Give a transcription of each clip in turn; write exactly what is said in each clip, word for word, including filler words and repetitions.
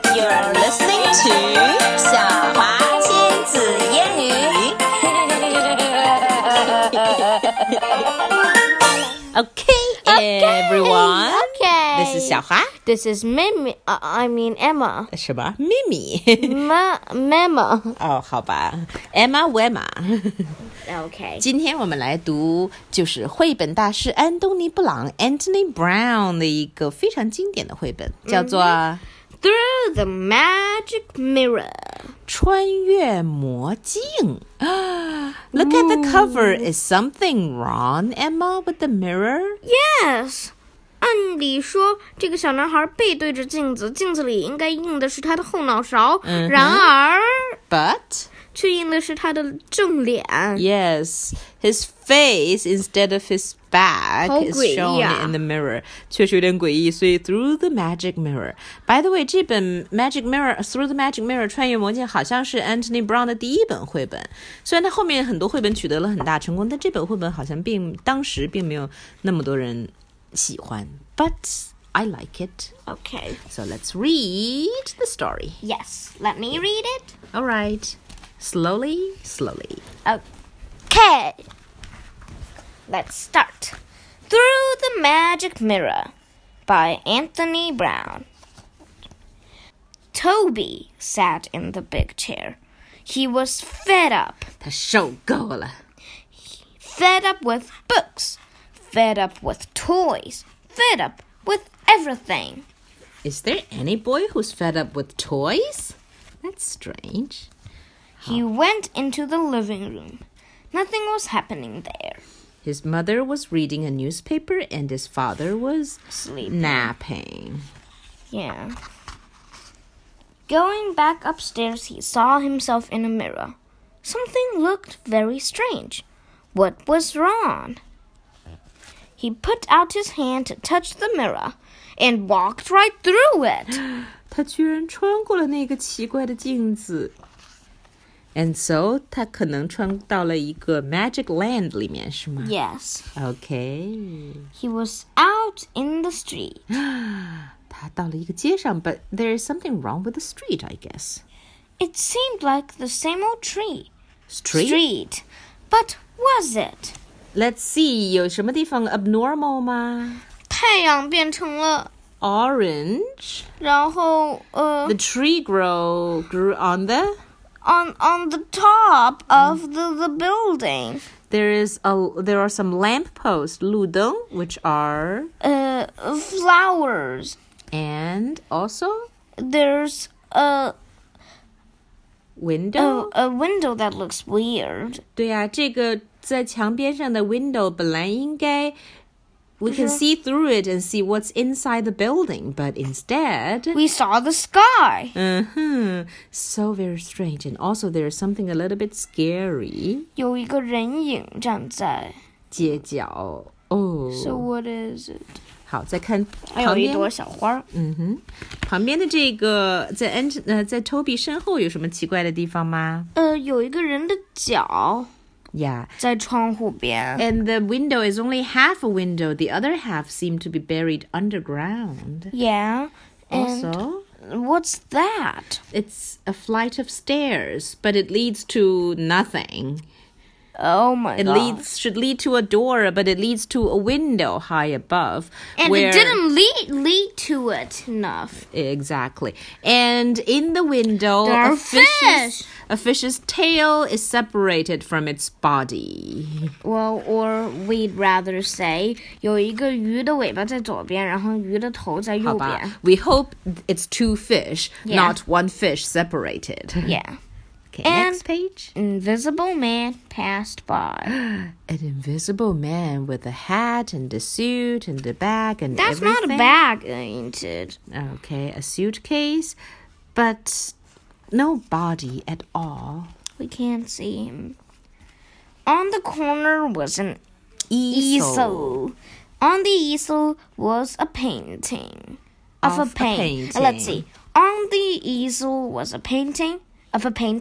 You're listening to 小华亲子英语。Okay, Okay, everyone. okay. This is 小华。 This is Mimi. Uh, I mean Emma. 什么？咪咪。 Ma Mama. 哦，好吧 ，Emma Wemma。 Okay. 今天我们来读就是绘本大师安东尼·布朗 （Anthony Brown） 的一个非常经典的绘本，叫做《 Through the Magic Mirror. 穿越魔镜》。Look at the cover. Is something wrong, Emma, with the mirror? Yes. 按理说，这个小男孩背对着镜子，镜子里应该映的是他的后脑勺， 嗯哼然而 But 却映的是他的正脸。 yes, his face instead of his back 好 is 诡异 shown 啊。 in the mirror. 确实有点诡异，所以 Through the Magic Mirror. By the way, 这本 Magic Mirror Through the Magic Mirror 穿越魔镜好像是 Anthony Brown 的第一本绘本。虽然他后面很多绘本取得了很大成功，但这本绘本好像并当时并没有那么多人喜欢。But I like it. Okay. So let's read the story. Yes. Let me read it. All right. Slowly, slowly. Okay. Let's start. Through the Magic Mirror by Anthony Brown. Toby sat in the big chair. He was fed up. 他受够了。 Fed up with books. Fed up with toys. Fed up with everything. Is there any boy who's fed up with toys? That's strange. He went into the living room. Nothing was happening there. His mother was reading a newspaper and his father was Sleeping. napping. Yeah. Going back upstairs, he saw himself in a mirror. Something looked very strange. What was wrong? He put out his hand to touch the mirror and walked right through it. 他居然穿过了那个奇怪的镜子。And so 他可能穿到了一个 Magic Land 里面，是吗？ Yes. Okay. He was out in the street. 他到了一个街上 but there is something wrong with the street, I guess. It seemed like the same old tree. Street? Street. But was it? Let's see, 有什么地方 abnormal 吗？ 太阳变成了 Orange. 然后呃 The tree grow grew on the. on on the top of the, the building. There is a there are some lampposts, 路灯, which are Uh, flowers. and also There's a, window. a a window that looks weird. 对呀，这个在墙边上的 window 本来应该 we can see through it and see what's inside the building, but instead We saw the sky. uh-huh, so very strange. And also there's something a little bit scary. 有一个人影站在。 街角 oh So what is it? 好，再看还有一旁边朵小花。 嗯哼，旁边的这个在 Ant 呃在 Toby 身后有什么奇怪的地方吗？ 呃，有一个人的脚 Yeah. 在窗户边。 And the window is only half a window. The other half seemed to be buried underground. Yeah. And Also, what's that? it's a flight of stairs, but it leads to nothing. Oh my It god. leads should lead to a door, but it leads to a window high above. And where, it didn't lead lead to it enough. Exactly. And in the window, There are a fish's, fish. a fish's tail is separated from its body. Well, or we'd rather say 有一个鱼的尾巴在左边，然后鱼的头在右边。 好吧, we hope it's two fish, Yeah. not one fish separated. Yeah. Okay, And- next page. Invisible man passed by. An invisible man with a hat and a suit and a bag and That's everything. not a bag, ain't it? Okay, a suitcase, but no body at all. We can't see him. On the corner was an Easel. easel. On the easel was a painting of, Of a a paint. painting. Let's see. On the easel was a painting of a painting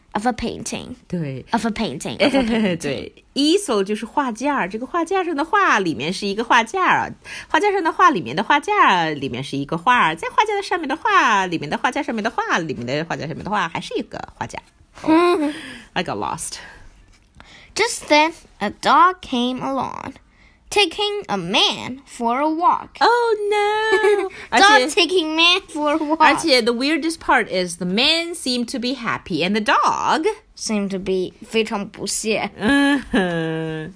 of a painting. 对 Of a painting. Of a painting. 对 easel 就是画架，这个画架上的画里面是一个画架，画架上的画里面的画架里面是一个画，在画架的上面的画里面的画架上面的画里面的画架上面的画还是一个画架。Oh, I got lost. Just then, a dog came along, taking a man for a walk. Oh no! 而 Dog 且 taking man for a walk. 而且 the weirdest part is the man seemed to be happy and the dog seemed to be 非常不屑。 嗯哼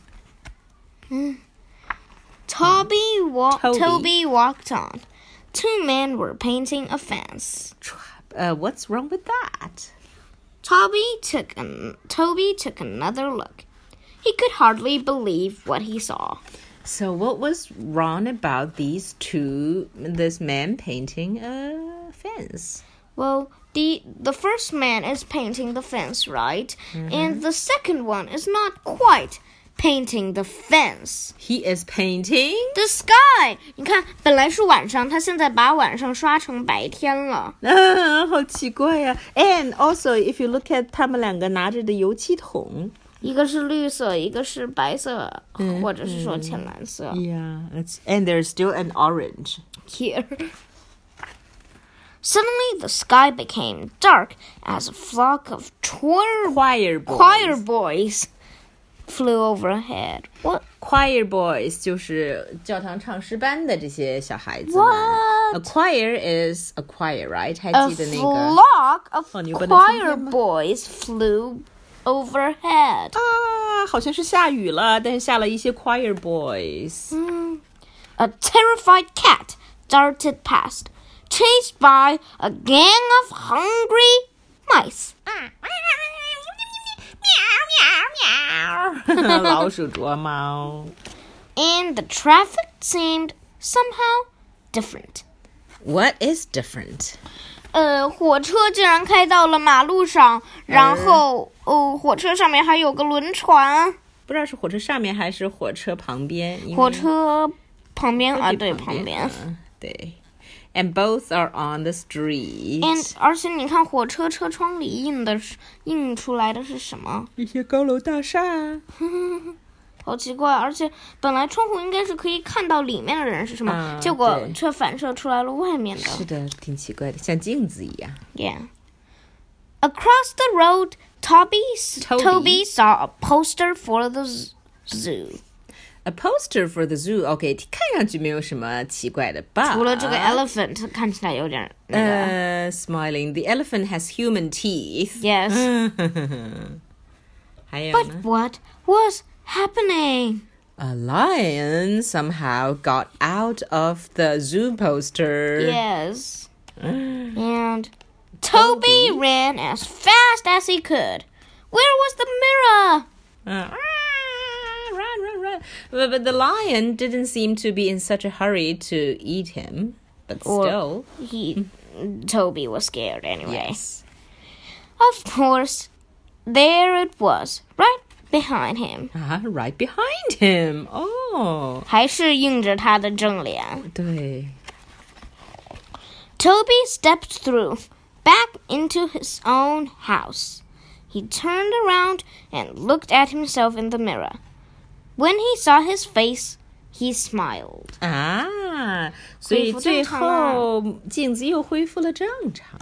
Toby, wa- Toby. Toby walked on. Two men were painting a fence. Uh, what's wrong with that? Toby took an- Toby took another look. He could hardly believe what he saw. So what was wrong about these two, this man painting a fence? Well, the the first man is painting the fence, right? Mm-hmm. And the second one is not quite painting the fence. He is painting? The sky. 你看，本来是晚上，他现在把晚上刷成白天了。 啊，好奇怪呀。And also, if you look at 他们两个拿着的油漆桶。 一个是绿色，一个是白色， 嗯， 或者是说浅蓝色。 Yeah, it's, and there's still an orange. Here. Suddenly, the sky became dark as a flock of choir, Choir boys. choir boys flew overhead. What? Choir boys 就是教堂唱诗班的这些小孩子们。 What? A choir is a choir, right? 还 A 记得那个 flock of 哦，你不能听见 choir 吗？ boys flew overhead. 啊，好像是下雨了，但是下了一些 choir boys. Hmm. A terrified cat darted past, chased by a gang of hungry mice. 老鼠捉猫。 And the traffic seemed somehow different. What is different? 呃，火车竟然开到了马路上，然后，哦，火车上面还有个轮船。 不知道是火车上面还是火车旁边。 火车旁边啊，对， 旁旁边。 对。And both are on the street. And 而且你看，火车车窗里印的是印出来的是什么？ 一些高楼大厦。 好奇怪，而且本来窗户应该是可以看到里面的人是什么， 啊结果对却反射出来了外面的。 是的，挺奇怪的，像镜子一样。 Yeah. Across the road, Toby, Toby. Toby saw a poster for the z- zoo. A poster for the zoo. OK, 看上去没有什么奇怪的吧？ 除了这个 elephant 看起来有点那个。 呃、uh, smiling. The elephant has human teeth. Yes. 还有 But 呢 what was happening? A lion somehow got out of the zoo poster. Yes. And Toby, Toby. ran as fast as he could. Where was the mirror? Uh, run, run, run. But, but the lion didn't seem to be in such a hurry to eat him. But Or still. he, Toby was scared anyway. Yes. Of course, there it was, right behind him. Ah, right behind him. Oh. 还是映着他的正脸。 对。 Toby stepped through, back into his own house. He turned around and looked at himself in the mirror. When he saw his face, he smiled. 啊，所以恢复最正常了。 后镜子又恢复了正常。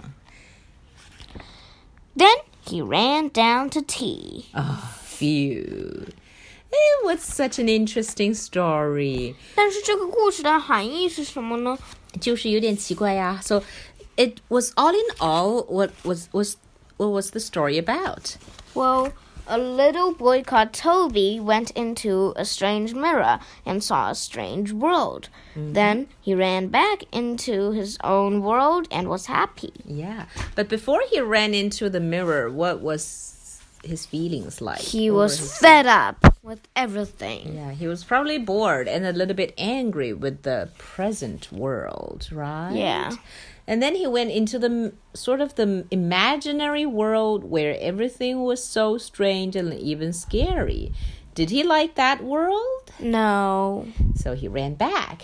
Then he ran down to tea. Oh, phew. It was such an interesting story. 但是这个故事的含义是什么呢？ 就是有点奇怪呀。So it was all in all, what was was what was the story about? Well, a little boy called Toby went into a strange mirror and saw a strange world. Mm-hmm. Then he ran back into his own world and was happy. Yeah, but before he ran into the mirror, what was his feelings like? He What was were his fed up with everything. Yeah, he was probably bored and a little bit angry with the present world, right? Yeah. And then he went into the sort of the imaginary world where everything was so strange and even scary. Did he like that world? No. So he ran back.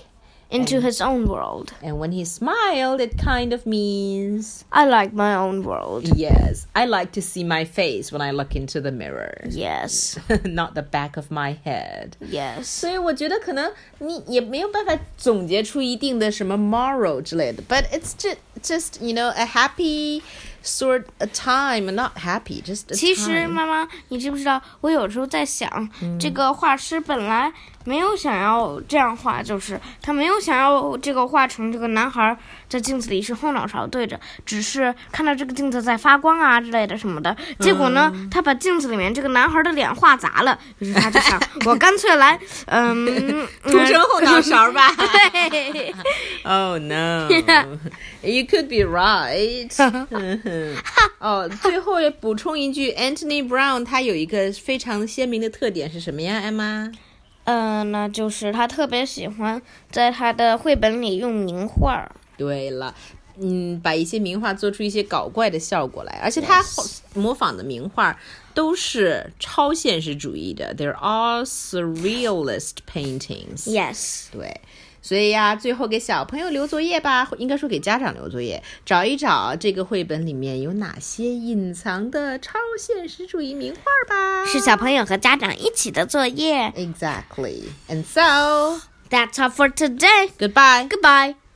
into his own world. And when he smiled, it kind of means I like my own world. Yes, I like to see my face when I look into the mirror. Yes. Not the back of my head. Yes. 所以我觉得可能你也没有办法总结出一定的什么 moral 之类的 but it's just, just you know, a happy sort of time, not happy, just a time. 其实妈妈，你知不知道我有时候在想、嗯、这个画师本来没有想要这样画，就是他没有想要这个画成这个男孩在镜子里是后脑勺对着，只是看到这个镜子在发光啊之类的什么的，结果呢、嗯、他把镜子里面这个男孩的脸画砸了，于是他就想我干脆来嗯涂成后脑勺吧。 对 Oh no You could be right 哦，最后也补充一句 Anthony Brown 他有一个非常鲜明的特点是什么呀 Emma？ 呃，那就是他特别喜欢在他的绘本里用名画。 对了，嗯，把一些名画做出一些搞怪的效果来，而且他模仿的名画都是超现实主义的 ，They're all surrealist paintings. Yes. 对。所以呀，最后给小朋友留作业吧，应该说给家长留作业，找一找这个绘本里面有哪些隐藏的超现实主义名画吧。 是小朋友和家长一起的作业。 Exactly. And so, that's all for today. Goodbye. Goodbye.